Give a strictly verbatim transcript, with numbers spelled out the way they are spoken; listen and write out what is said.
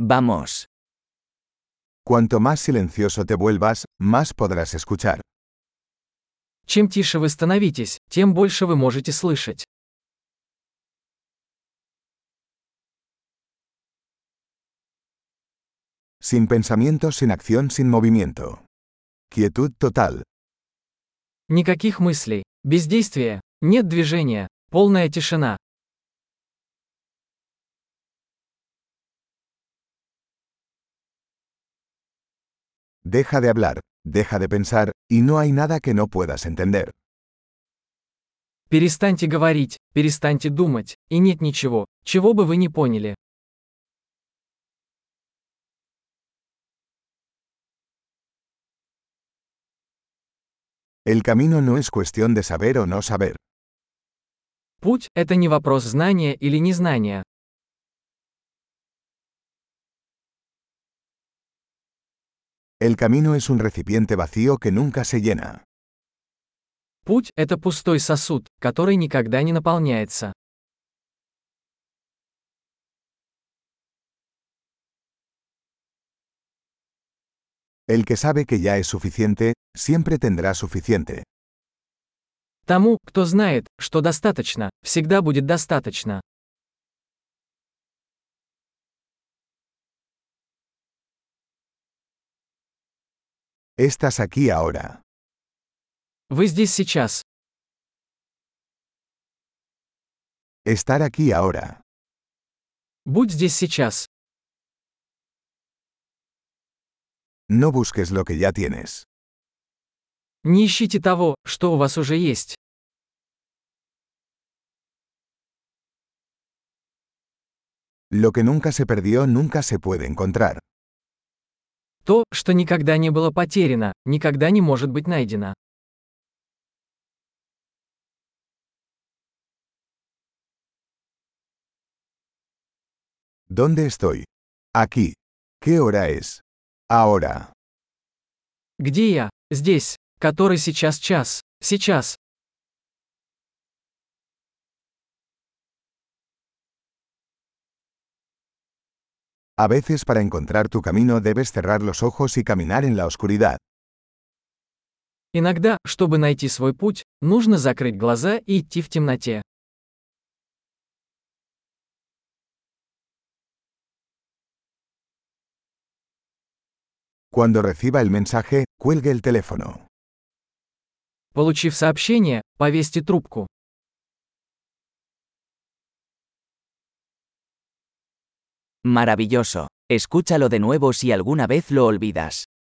Vamos. Cuanto más silencioso te vuelvas, más podrás escuchar. Чем тише вы становитесь, тем больше вы можете слышать. Sin pensamiento, sin acción, sin movimiento. Quietud total. Никаких мыслей, бездействия, нет движения, полная тишина. Deja de hablar, deja de pensar, y no hay nada que no puedas entender. Перестаньте говорить, перестаньте думать, и нет ничего, чего бы вы не поняли. El camino no es cuestión de saber o no saber. Путь – это не вопрос знания или незнания. El camino es un recipiente vacío que nunca se llena. Путь – это пустой сосуд, который никогда не наполняется. El que sabe que ya es suficiente, siempre tendrá suficiente. Тому, кто знает, что достаточно, всегда будет достаточно. Estás aquí ahora. Вы здесь сейчас. Estar aquí ahora. Будь здесь сейчас. No busques lo que ya tienes. Не ищите того, что у вас уже есть. Lo que nunca se perdió nunca se puede encontrar. То, что никогда не было потеряно, никогда не может быть найдено. ¿Dónde estoy? Aquí. ¿Qué hora es? Ahora. Где я? Здесь. Который сейчас час? Сейчас. A veces para encontrar tu camino debes cerrar los ojos y caminar en la oscuridad. Иногда, чтобы найти свой путь, нужно закрыть глаза и идти в темноте. Cuando reciba el mensaje, cuelgue el teléfono. Получив сообщение, повесьте трубку. Maravilloso. Escúchalo de nuevo si alguna vez lo olvidas.